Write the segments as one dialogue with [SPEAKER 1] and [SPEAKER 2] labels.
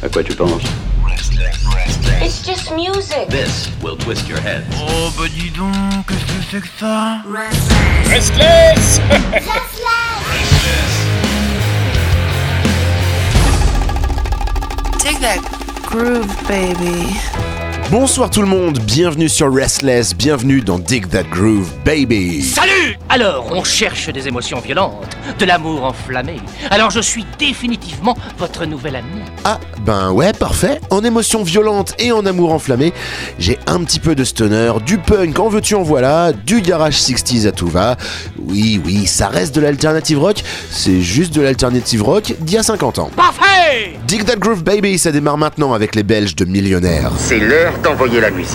[SPEAKER 1] À quoi tu penses?
[SPEAKER 2] It's just music.
[SPEAKER 1] This will twist your head.
[SPEAKER 3] Oh bah dis donc, qu'est-ce que c'est que ça?
[SPEAKER 4] Restless.
[SPEAKER 5] Take that groove, baby.
[SPEAKER 6] Bonsoir tout le monde, bienvenue sur Restless, bienvenue dans Dig That Groove, baby.
[SPEAKER 7] Salut! Alors, on cherche des émotions violentes, de l'amour enflammé. Alors je suis définitivement votre nouvel ami.
[SPEAKER 6] Ah, ben ouais, parfait. En émotion violente et en amour enflammé, j'ai un petit peu de stoner, du punk en veux-tu en voilà, du garage 60s à tout va. Oui, ça reste de l'alternative rock, c'est juste de l'alternative rock d'il y a 50 ans.
[SPEAKER 7] Parfait!
[SPEAKER 6] Dig That Groove, baby, ça démarre maintenant avec les Belges de Millionnaire.
[SPEAKER 1] C'est l'heure d'envoyer la musique.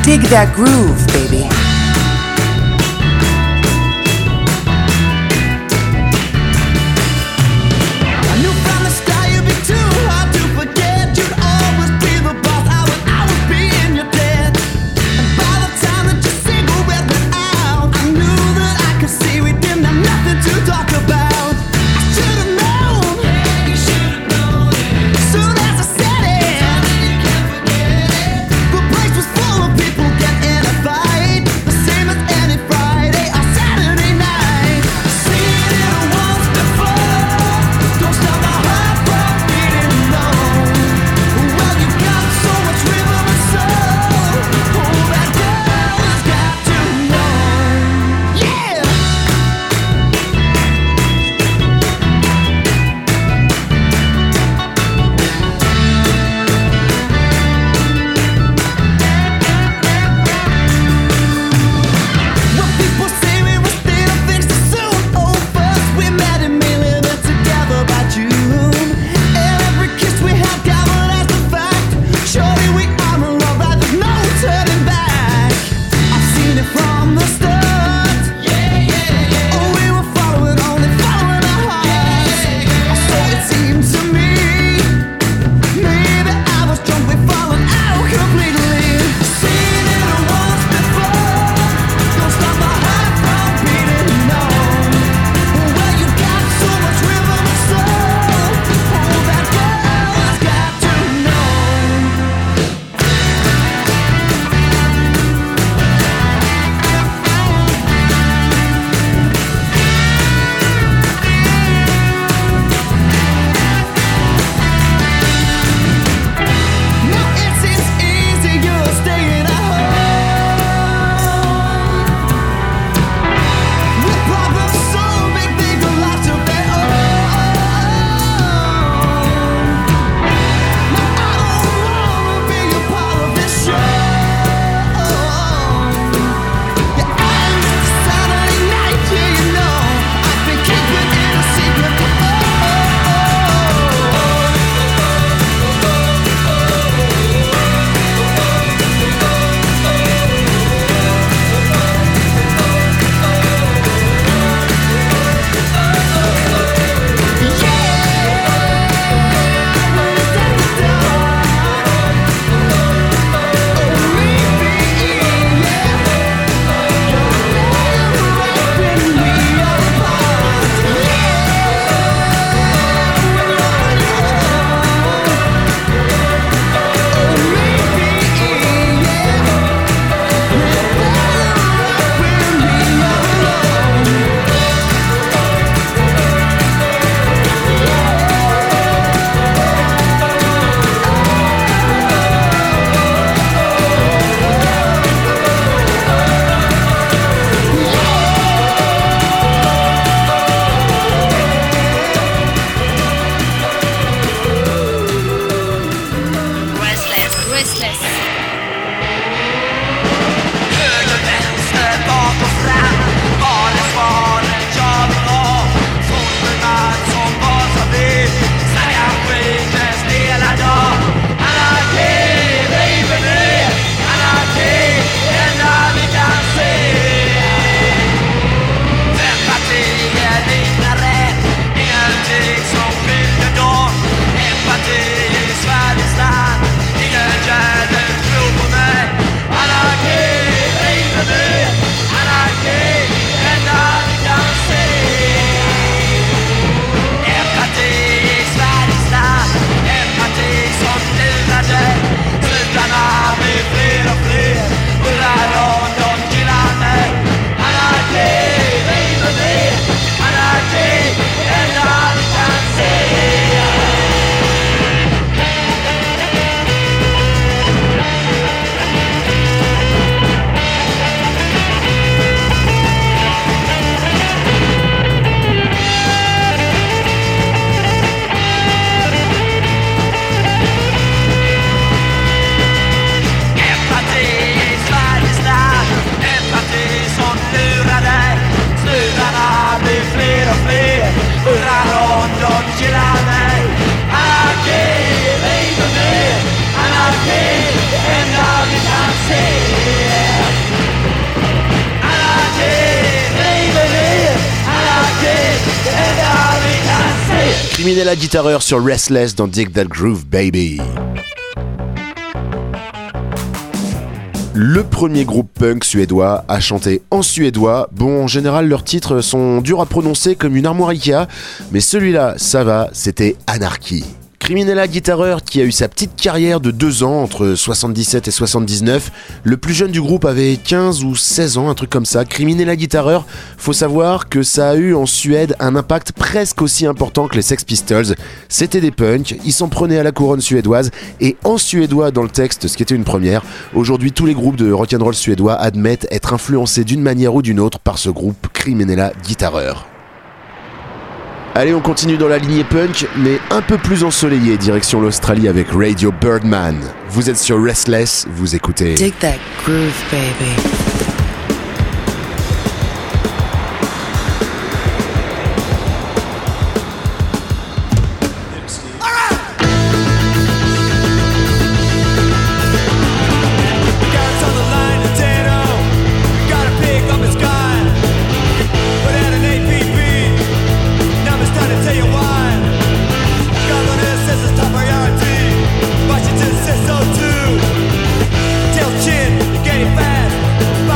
[SPEAKER 5] Dig that groove, baby.
[SPEAKER 3] Empati i Sveriges land, ingen kärlek
[SPEAKER 6] Criminella Guitareur sur Restless dans Dig That Groove Baby. Le premier groupe punk suédois à chanter en suédois. Bon, en général, leurs titres sont durs à prononcer comme une armoire Ikea, mais celui-là, ça va, c'était Anarchy. Criminella Guitareur qui a eu sa petite carrière de 2 ans entre 77 et 79. Le plus jeune du groupe avait 15 ou 16 ans, un truc comme ça. Criminella Guitareur, faut savoir que ça a eu en Suède un impact presque aussi important que les Sex Pistols. C'était des punks, ils s'en prenaient à la couronne suédoise et en suédois dans le texte, ce qui était une première. Aujourd'hui, tous les groupes de rock'n'roll suédois admettent être influencés d'une manière ou d'une autre par ce groupe Criminella Guitareur. Allez, on continue dans la lignée punk, mais un peu plus ensoleillé, direction l'Australie avec Radio Birdman. Vous êtes sur Restless, vous écoutez
[SPEAKER 5] Dig That Groove Baby.
[SPEAKER 8] Chin, getting fast.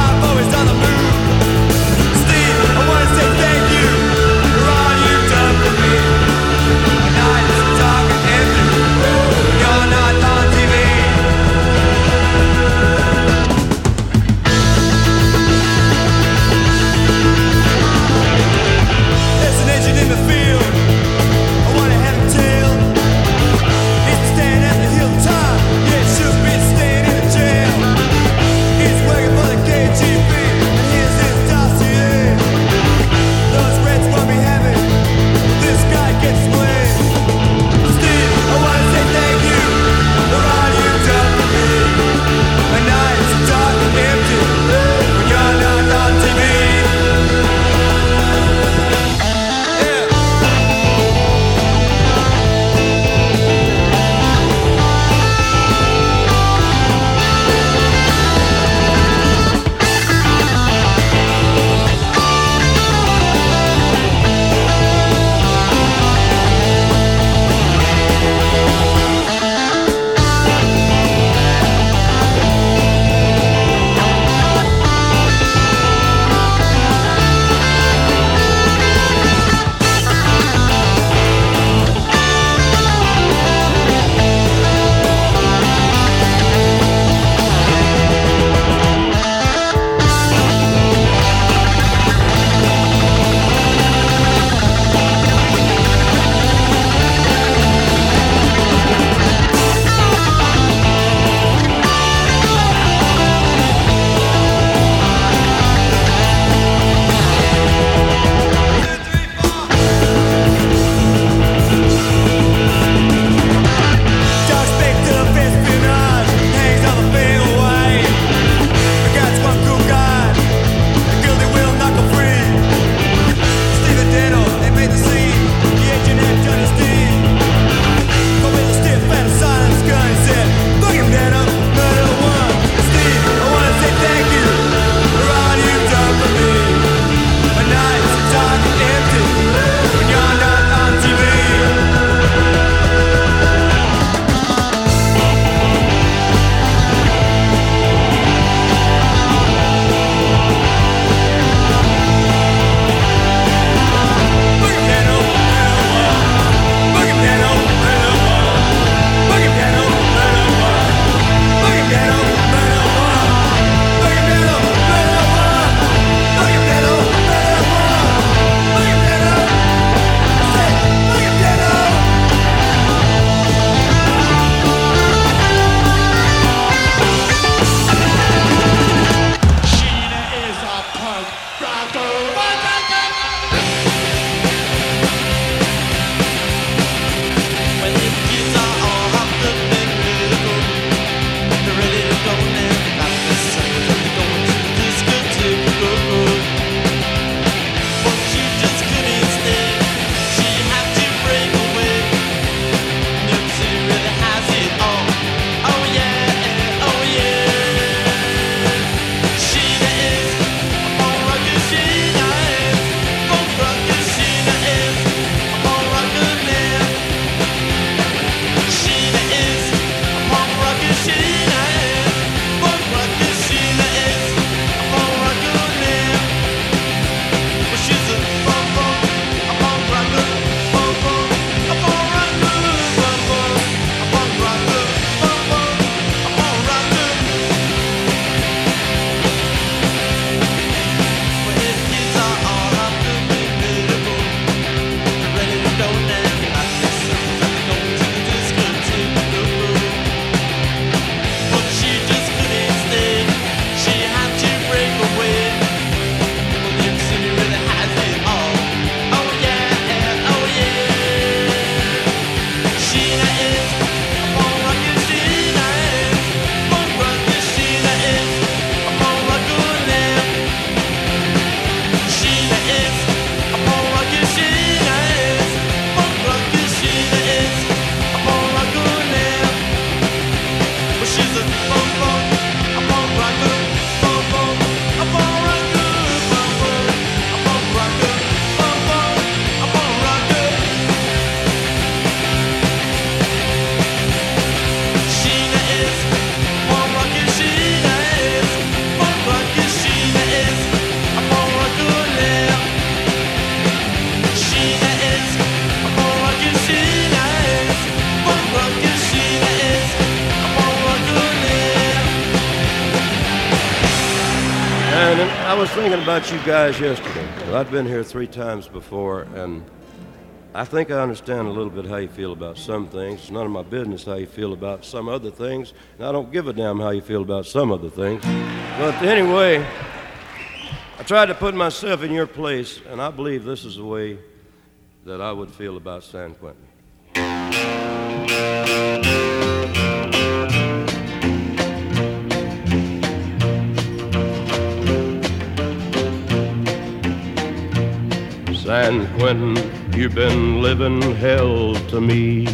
[SPEAKER 8] man, and I was thinking about you guys yesterday. I've been here 3 times before, and I think I understand a little bit how you feel about some things. It's none of my business how you feel about some other things, and I don't give a damn how you feel about some other things. But anyway, I tried to put myself in your place, and I believe this is the way that I would feel about San Quentin. San Quentin, you've been living hell to me.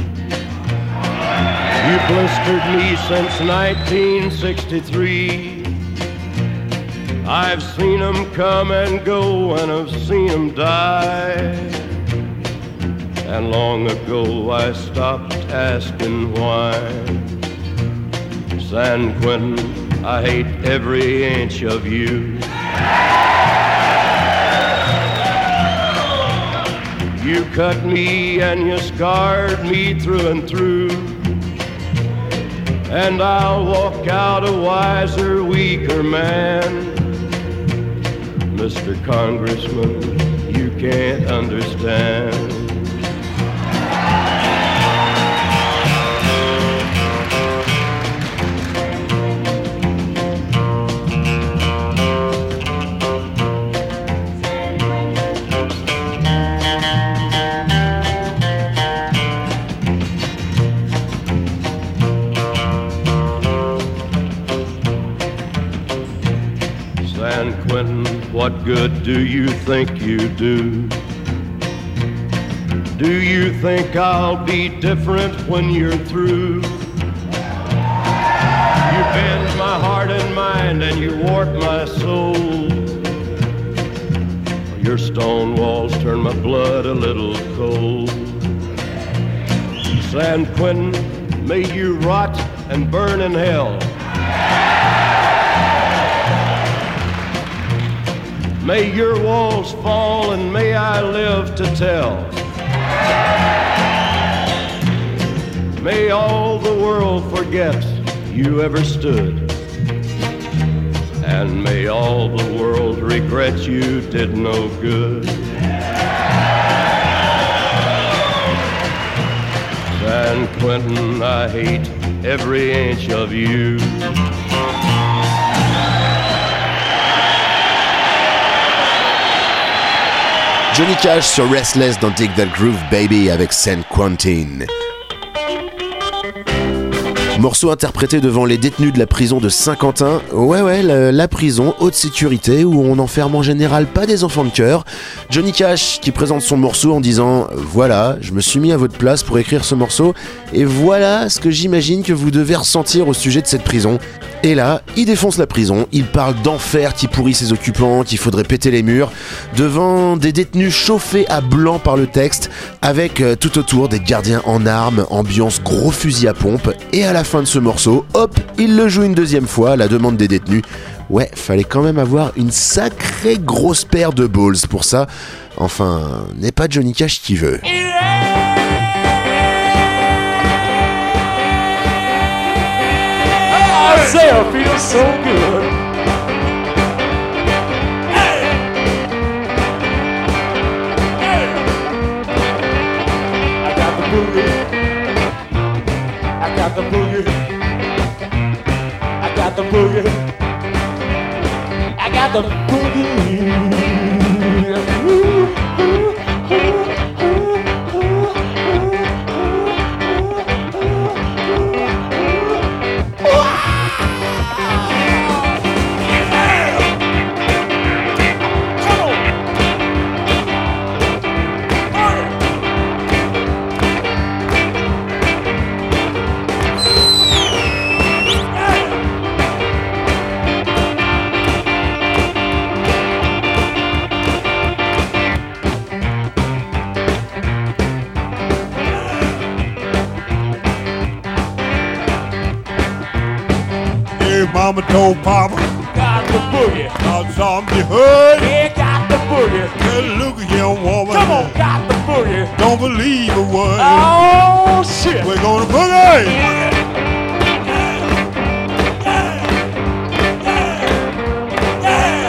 [SPEAKER 8] You blistered me since 1963. I've seen them come and go, and I've seen them die. And long ago I stopped asking why. San Quentin, I hate every inch of you. You cut me and you scarred me through and through. And I'll walk out a wiser, weaker man. Mr. Congressman, you can't understand. San Quentin, what good do you think you do? Do you think I'll be different when you're through? You bend my heart and mind and you warp my soul. Your stone walls turn my blood a little cold. San Quentin, may you rot and burn in hell. May your walls fall and may I live to tell. May all the world forget you ever stood. And may all the world regret you did no good. San Quentin, I hate every inch of you.
[SPEAKER 6] Johnny Cash sur Restless dans Dig That Groove Baby avec San Quentin. Morceau interprété devant les détenus de la prison de Saint-Quentin. Ouais, la prison haute sécurité où on n'enferme en général pas des enfants de cœur. Johnny Cash qui présente son morceau en disant « Voilà, je me suis mis à votre place pour écrire ce morceau et voilà ce que j'imagine que vous devez ressentir au sujet de cette prison. » Et là, il défonce la prison, il parle d'enfer qui pourrit ses occupants, qu'il faudrait péter les murs, devant des détenus chauffés à blanc par le texte, avec tout autour des gardiens en armes, ambiance gros fusil à pompe, et à la fin de ce morceau, hop, il le joue une deuxième fois à la demande des détenus. Ouais, fallait quand même avoir une sacrée grosse paire de balls pour ça. Enfin, n'est pas Johnny Cash qui veut.
[SPEAKER 4] Isaiah feels so good. Hey. Hey. I got the boogie. I got the boogie. I got the boogie. I got the boogie. Ooh, ooh, ooh.
[SPEAKER 9] Mama told Papa,
[SPEAKER 4] got the boogie.
[SPEAKER 9] got something you heard.
[SPEAKER 4] Yeah, got the boogie.
[SPEAKER 9] Well, look at young woman.
[SPEAKER 4] Come on, got the boogie.
[SPEAKER 9] Don't believe a word.
[SPEAKER 4] Oh, shit.
[SPEAKER 9] We're gonna boogie.
[SPEAKER 4] Yeah.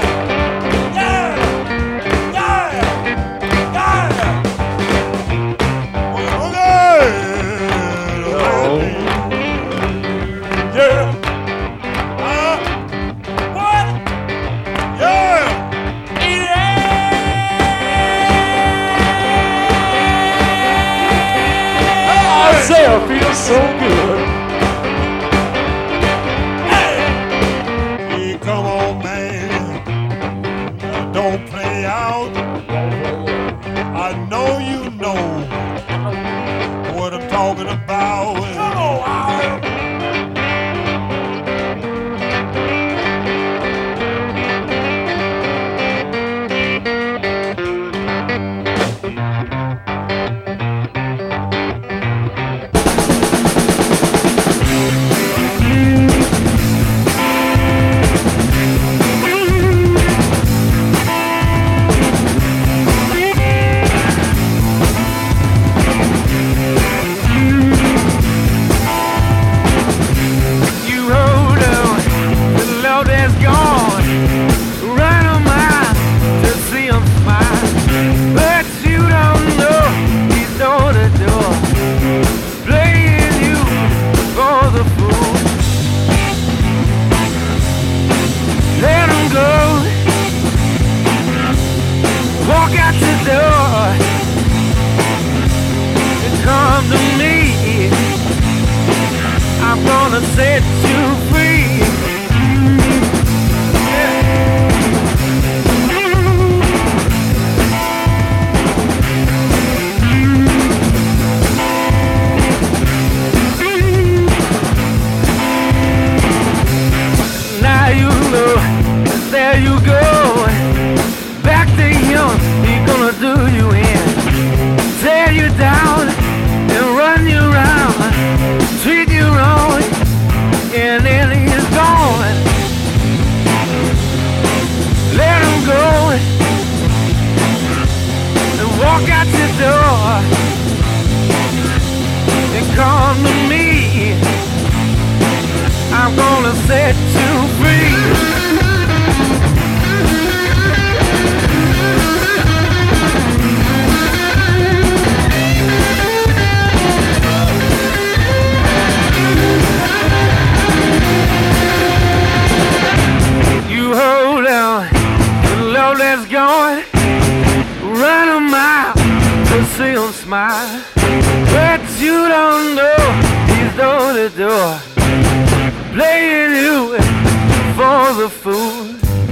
[SPEAKER 3] going, run a mile to see him smile. But you don't know he's door to door, playing you for the fool.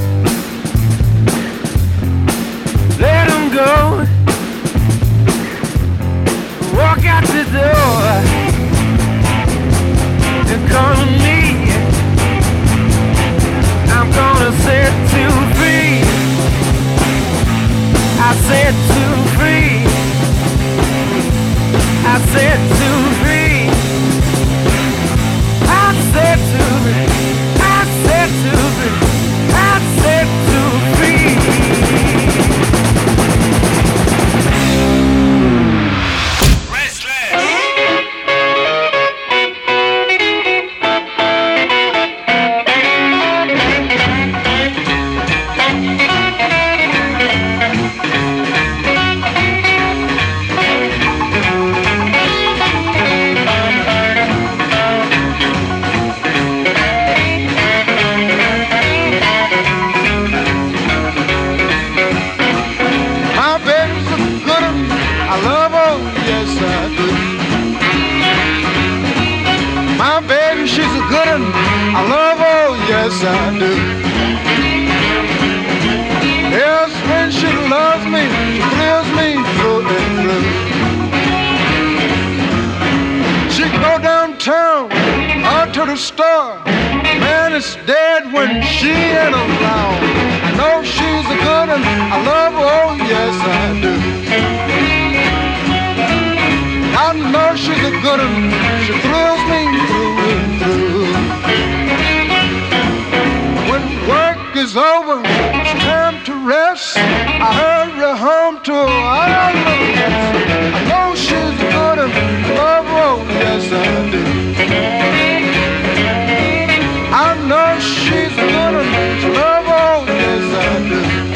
[SPEAKER 3] Let him go, walk out the door and call on me. I'm gonna set you free. I set you free. I set you free. I set you free. I set you free. I set you free.
[SPEAKER 9] Yes, I do. Yes, when she loves me, she thrills me through and through. She can go downtown or to the store. Man, it's dead when she ain't around. I know she's a good one. I love her, oh yes, I do. I know she's a good one. She thrills me through and through. Work is over, it's time to rest. I hurry home to her. I know she's a good one. Love her, oh yes I do. I know she's a good one. Love her, oh yes I do.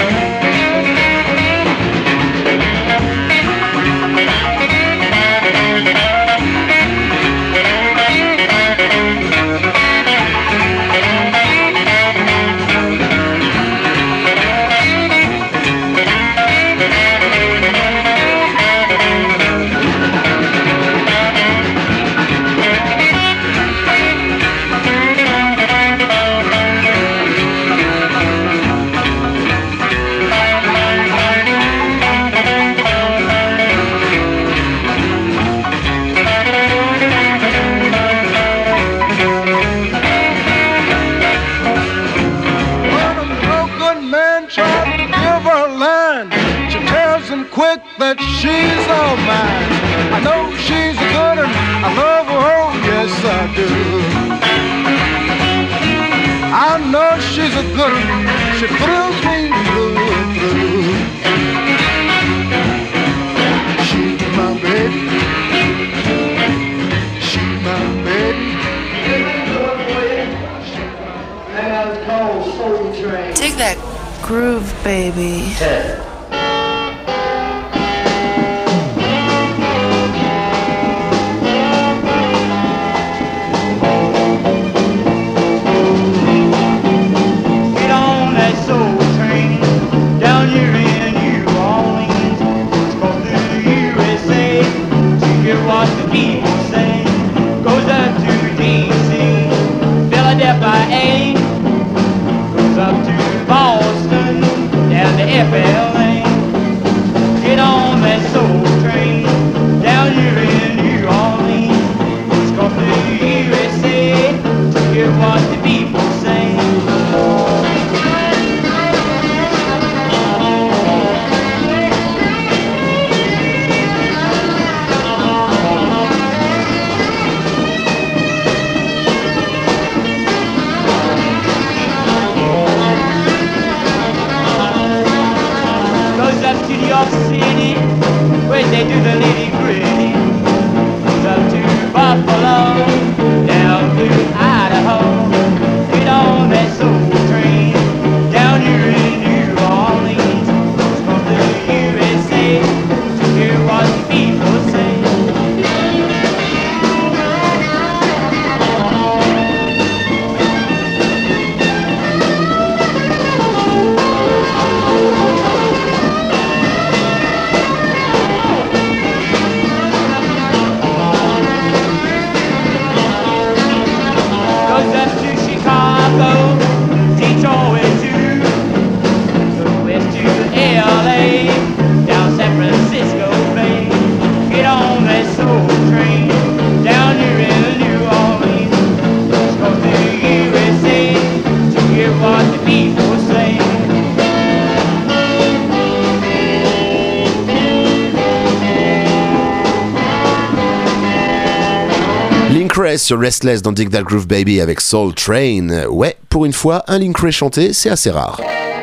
[SPEAKER 9] That she's all mine. I know she's a good one. I love her, oh yes I do. I know she's a good one. She thrills me through and through. She's my baby. She's my baby.
[SPEAKER 5] Take that groove, baby.
[SPEAKER 10] FLA. Get on that soul train down here in New Orleans. It's going to the USA to hear what the people say. York City, where they do the nitty-gritty. Up to Buffalo, down to Idaho. Get on that soul train down here in New Orleans. It's from the USA to hear what the people say.
[SPEAKER 6] Forest sur Restless dans Dig That Groove Baby avec Soul Train. Ouais, pour une fois, un Link Wray chanté, c'est assez rare.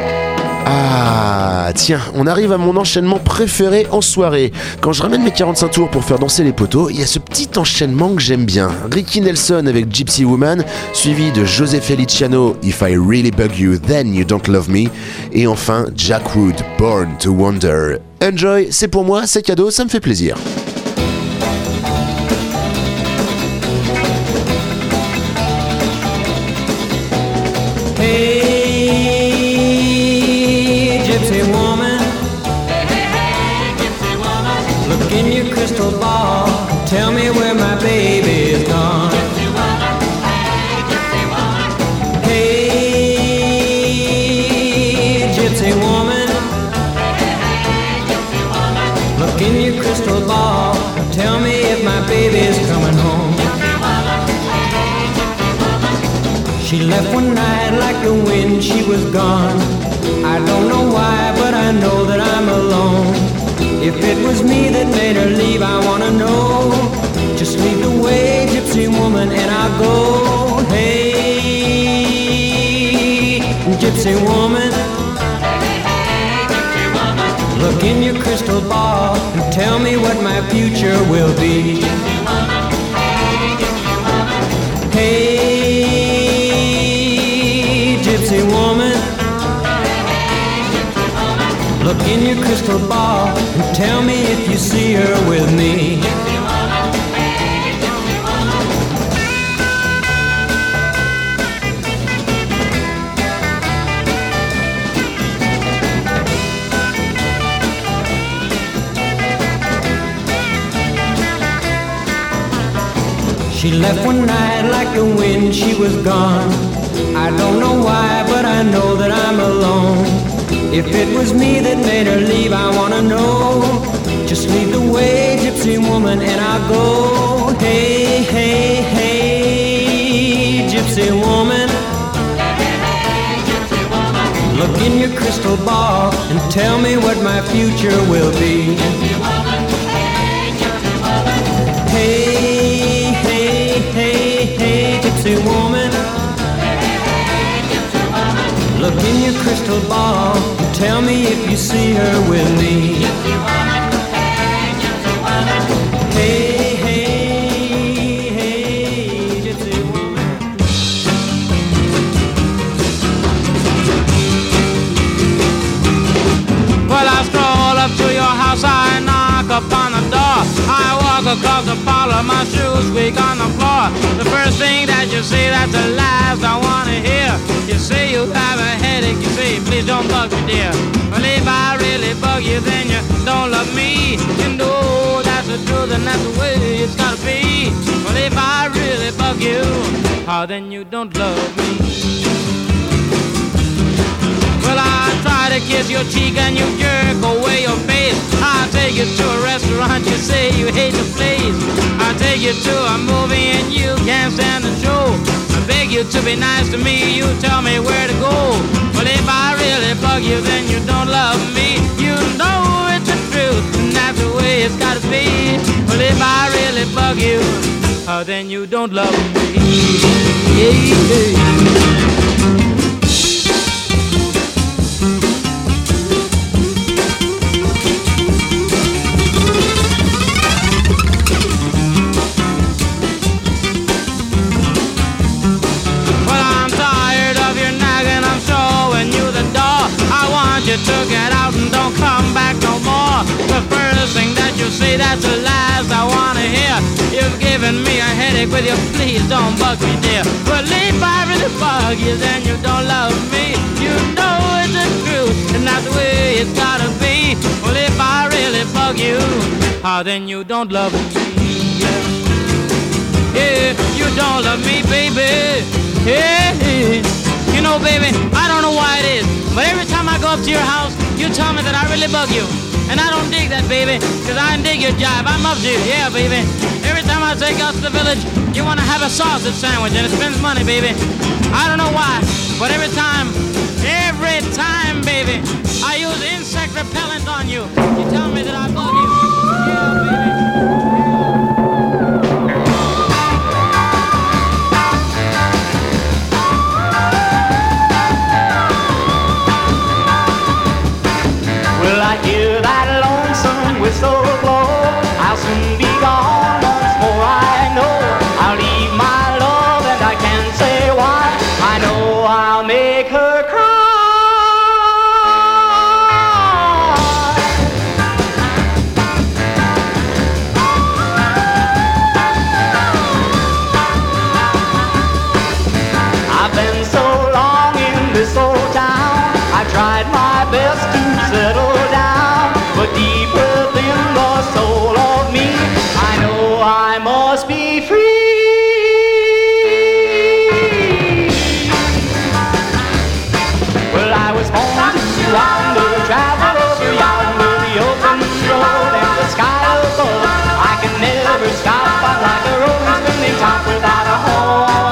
[SPEAKER 6] Ah, tiens, on arrive à mon enchaînement préféré en soirée. Quand je ramène mes 45 tours pour faire danser les poteaux, il y a ce petit enchaînement que j'aime bien. Ricky Nelson avec Gypsy Woman, suivi de José Feliciano, If I Really Bug You, Then You Don't Love Me, et enfin Jack Wood, Born to Wonder. Enjoy, c'est pour moi, c'est cadeau, ça me fait plaisir.
[SPEAKER 11] Tell me where my baby is gone. Hey, gypsy woman. Look in your crystal ball. Tell me if my baby's coming home. She left one night like the wind, she was gone. I don't know why, but I know that I'm alone. If it was me that made her leave, I wanna know. Just lead the way, gypsy woman, and I'll go. Hey, gypsy woman. Look in your crystal ball and tell me what my future will be. Hey, gypsy woman. Look in your crystal ball and tell me if you see her with me. She left one night like the wind, she was gone. I don't know why, but I know that I'm alone. If it was me that made her leave, I wanna know. Just lead the way, gypsy woman, and I'll go. Hey, hey, hey, gypsy woman. Look in your crystal ball and tell me what my future will be. Hey, hey, hey, hey, gypsy woman. Look in your crystal ball and tell me if you see her with me. Hey, hey, hey, gypsy woman.
[SPEAKER 12] Well, I stroll up to your house, I knock upon the door. I walk across the parlor, my shoes squeak on the floor. The first thing that you say, that's the last I wanna hear. You say you have a headache, you say, please don't bug me, dear. Well, if I really bug you, then you don't love me. You know that's the truth and that's the way it's gotta be. Well, if I really bug you, oh, then you don't love me. Well, I try to kiss your cheek and you jerk away your face. I take you to a restaurant, you say you hate the place. I take you to a movie and you can't stand the show. I beg you to be nice to me, you tell me where to go. Well, if I really bug you, then you don't love me. You know it's the truth, and that's the way it's gotta be. Well, if I really bug you, oh, then you don't love me. Yeah, yeah. To get out and don't come back no more. The first thing that you say, that's the last I wanna hear. You've given me a headache with your please don't bug me, dear. Well, if I really bug you, then you don't love me. You know it's the truth, and that's the way it's gotta be. Well, if I really bug you, oh, then you don't love me. Yeah, you don't love me, baby. Yeah, you know, baby, I don't know why it is, but every time I go up to your house, you tell me that I really bug you. And I don't dig that, baby, because I dig your jive. I'm up to you, yeah, baby. Every time I take out to the village, you want to have a sausage sandwich, and it spends money, baby. I don't know why, but every time, baby, I use insect repellent on you. You tell me that I bug you. Yeah, baby.
[SPEAKER 10] I'll make her cry. I've been so long in this old town, I tried my best to settle down, but deep within the soul of me, I know I must be free. Well, I was born to wander, travel over yonder, the open road and the sky above. I can never stop, I'm like a rolling spinning top without a home.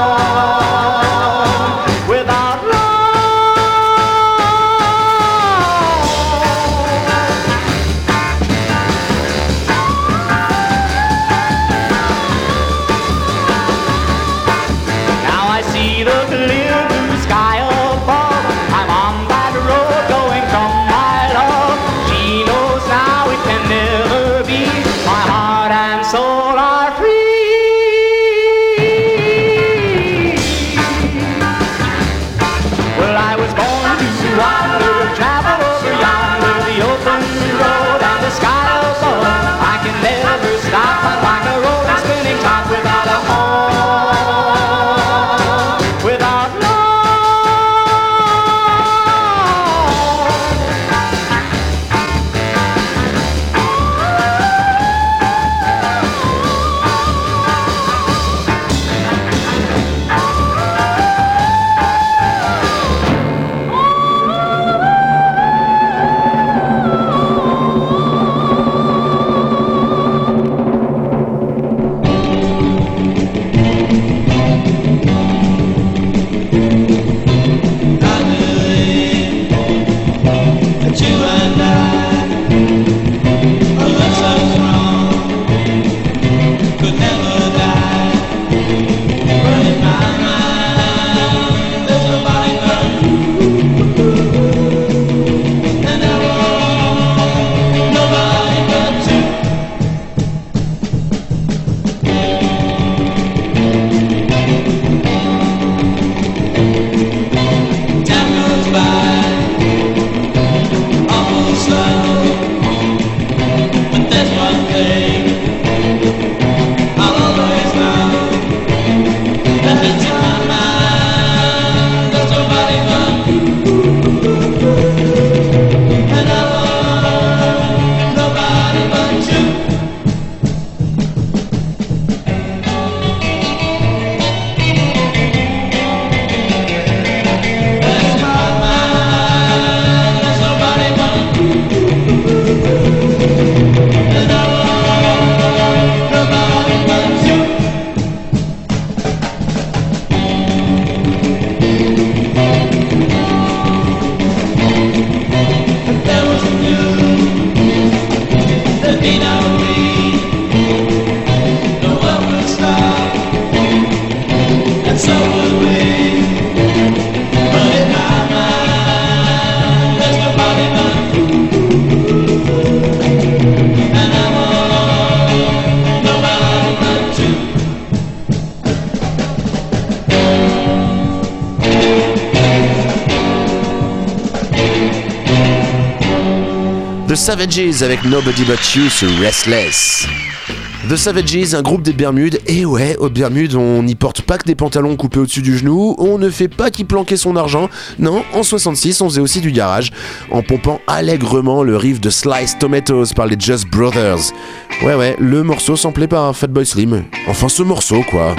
[SPEAKER 6] The Savages avec Nobody But You sur Restless. The Savages, un groupe des Bermudes, et ouais, aux Bermudes, on n'y porte pas que des pantalons coupés au-dessus du genou, on ne fait pas qui planquait son argent, non, en 66, on faisait aussi du garage, en pompant allègrement le riff de Sliced Tomatoes par les Just Brothers. Ouais, le morceau samplé par Fatboy Slim. Enfin, ce morceau, quoi.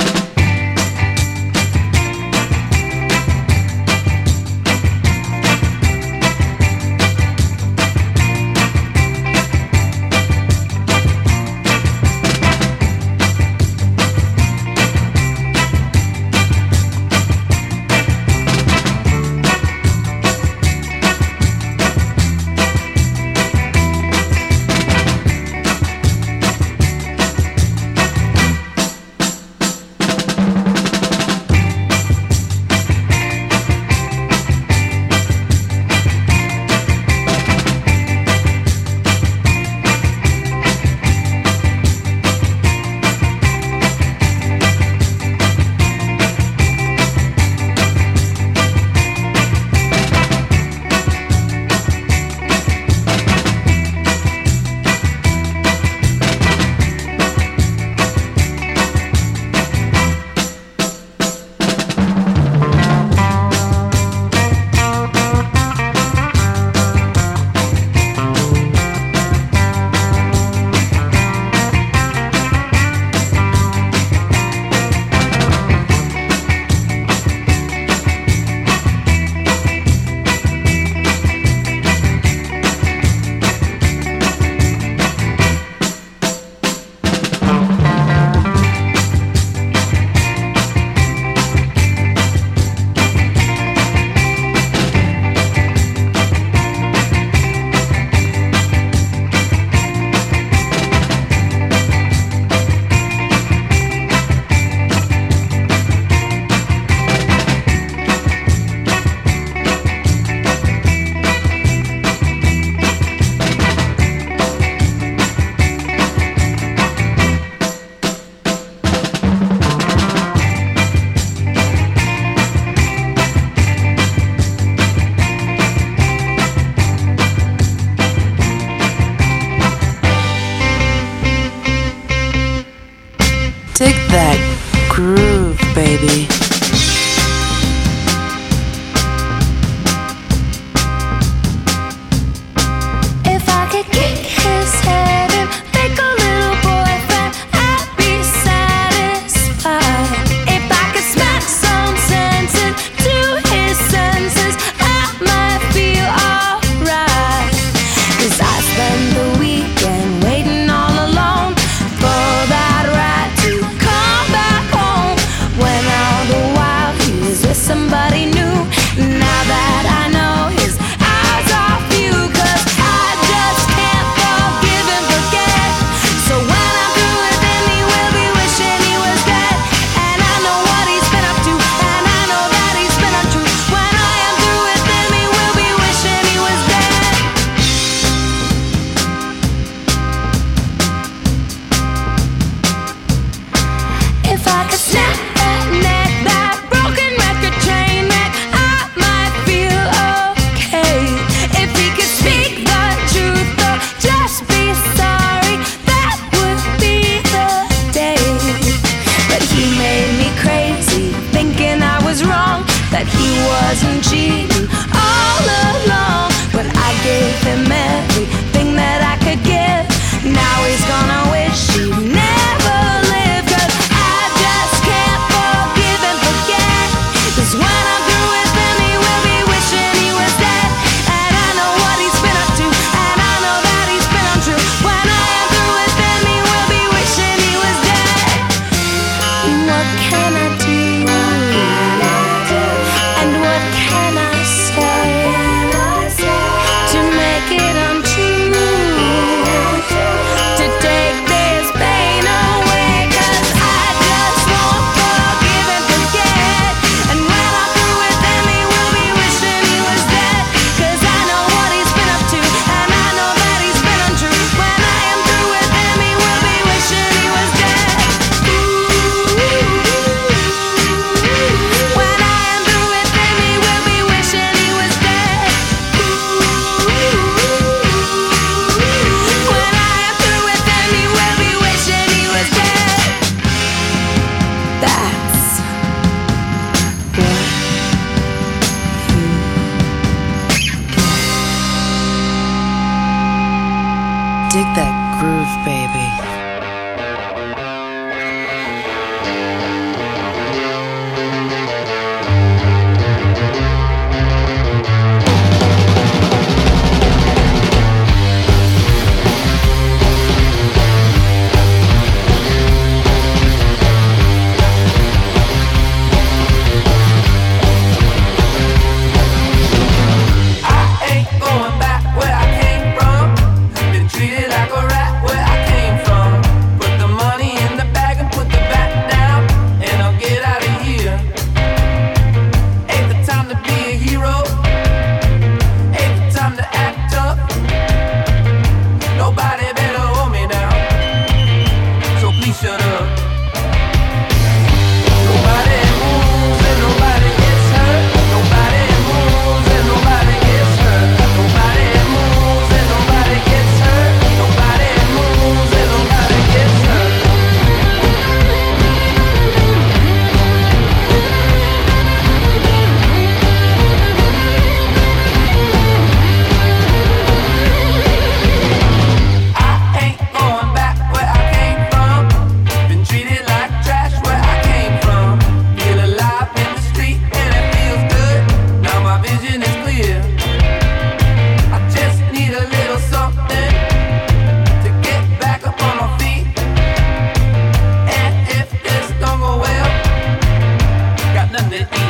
[SPEAKER 3] vision is clear. I just need a little something to get back up on my feet. And if this don't go well, got nothing to eat.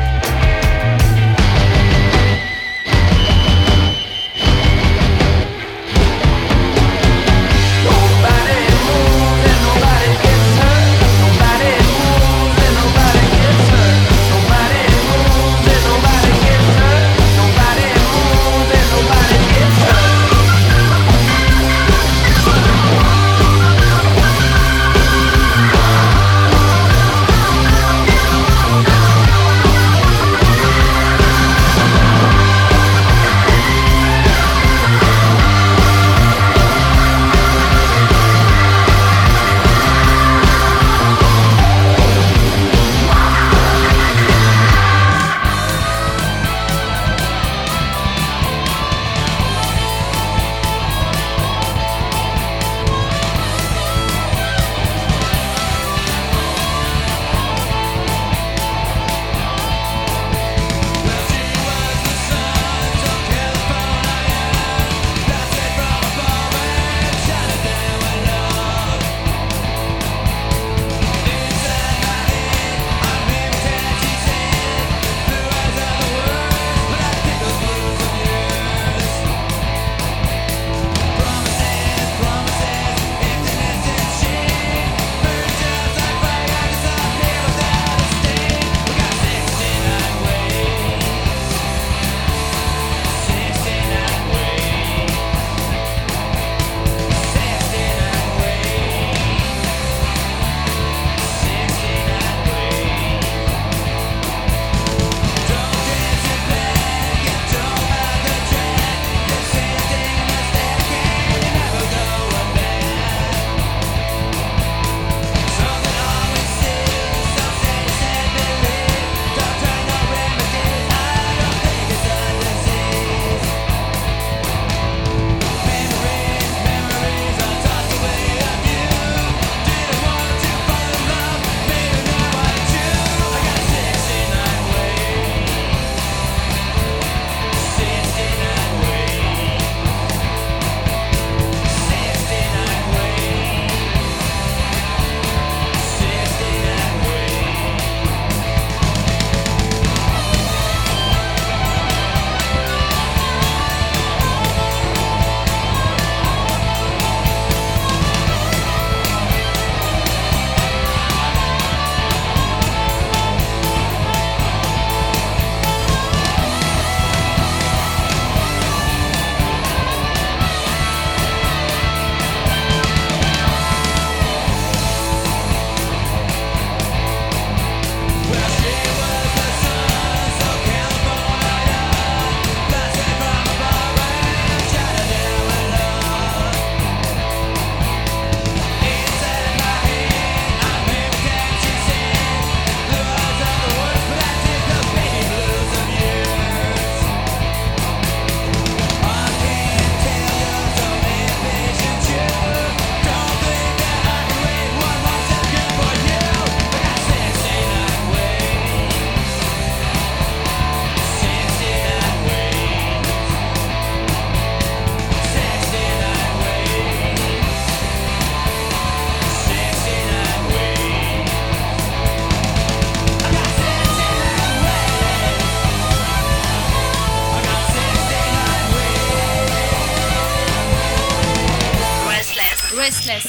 [SPEAKER 13] Restless.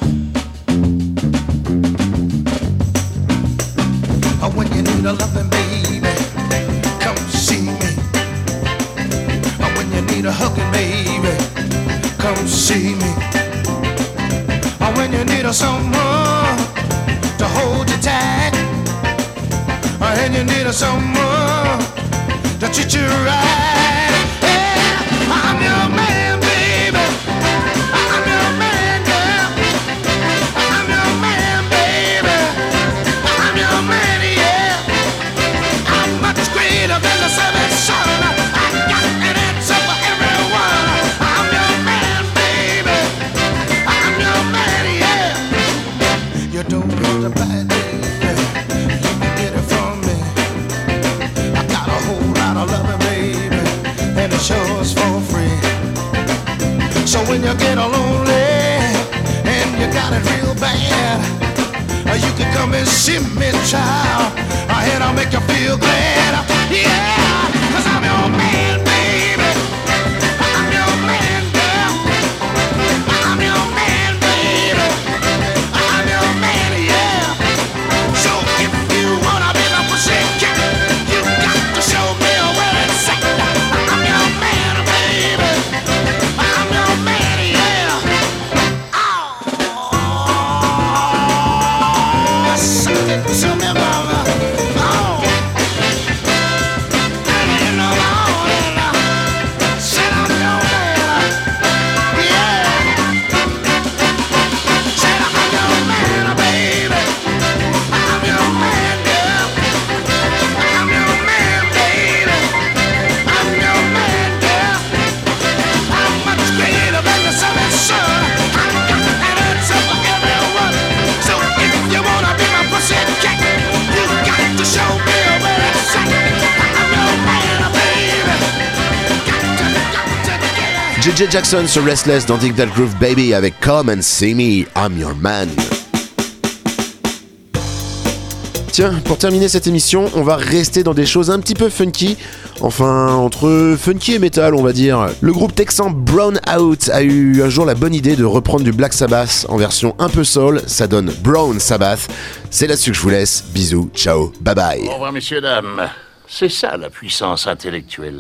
[SPEAKER 9] When you need a loving baby, come see me. When you need a hugging baby, come see me. When you need someone to hold you tight, and you need someone to treat you right. Yeah, I'm your man, baby. I'm your man, girl. I'm your man, baby. I'm your man, yeah. I'm much greater than the seven sun. I got an answer for everyone. I'm your man, baby. I'm your man, yeah. You don't have to buy it, baby. You can get it from me. I got a whole lot of loving, baby. shows for free. So when you get lonely and you got it real bad, you can come and see me, child, and I'll make you feel glad. Yeah, 'cause I'm your man, baby. I'm your man, girl. I'm your man, baby. I'm your man, yeah. So if you wanna be my pussycat, you got to show me where it's at. I'm your man, baby. I'm your man, yeah. Sing it to me, mama. Oh. And I'm on and said I'm your man, yeah. Said I'm your man, baby. I'm your man, girl. I'm your man, baby. I'm your man, girl. I'm much greater than the sun and sun. I got an answer for everyone. So if you wanna be my pussycat, you got to show me where it's at. I'm your man, baby.
[SPEAKER 6] JJ Jackson sur Restless dans Dig That Groove Baby avec Come and See Me, I'm Your Man. Tiens, pour terminer cette émission, on va rester dans des choses un petit peu funky. Enfin, entre funky et metal, on va dire. Le groupe texan Brown Out a eu un jour la bonne idée de reprendre du Black Sabbath en version un peu soul. Ça donne Brown Sabbath. C'est là-dessus que je vous laisse. Bisous, ciao, bye bye.
[SPEAKER 1] Au revoir, messieurs, dames. C'est ça la puissance intellectuelle.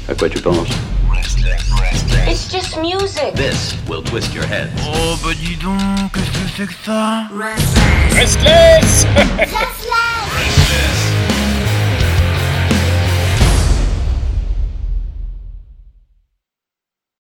[SPEAKER 14] À quoi tu penses?
[SPEAKER 2] It's just music.
[SPEAKER 14] This will twist your head.
[SPEAKER 3] Oh bah dis donc, qu'est-ce que c'est que ça?
[SPEAKER 4] Restless!
[SPEAKER 2] Restless!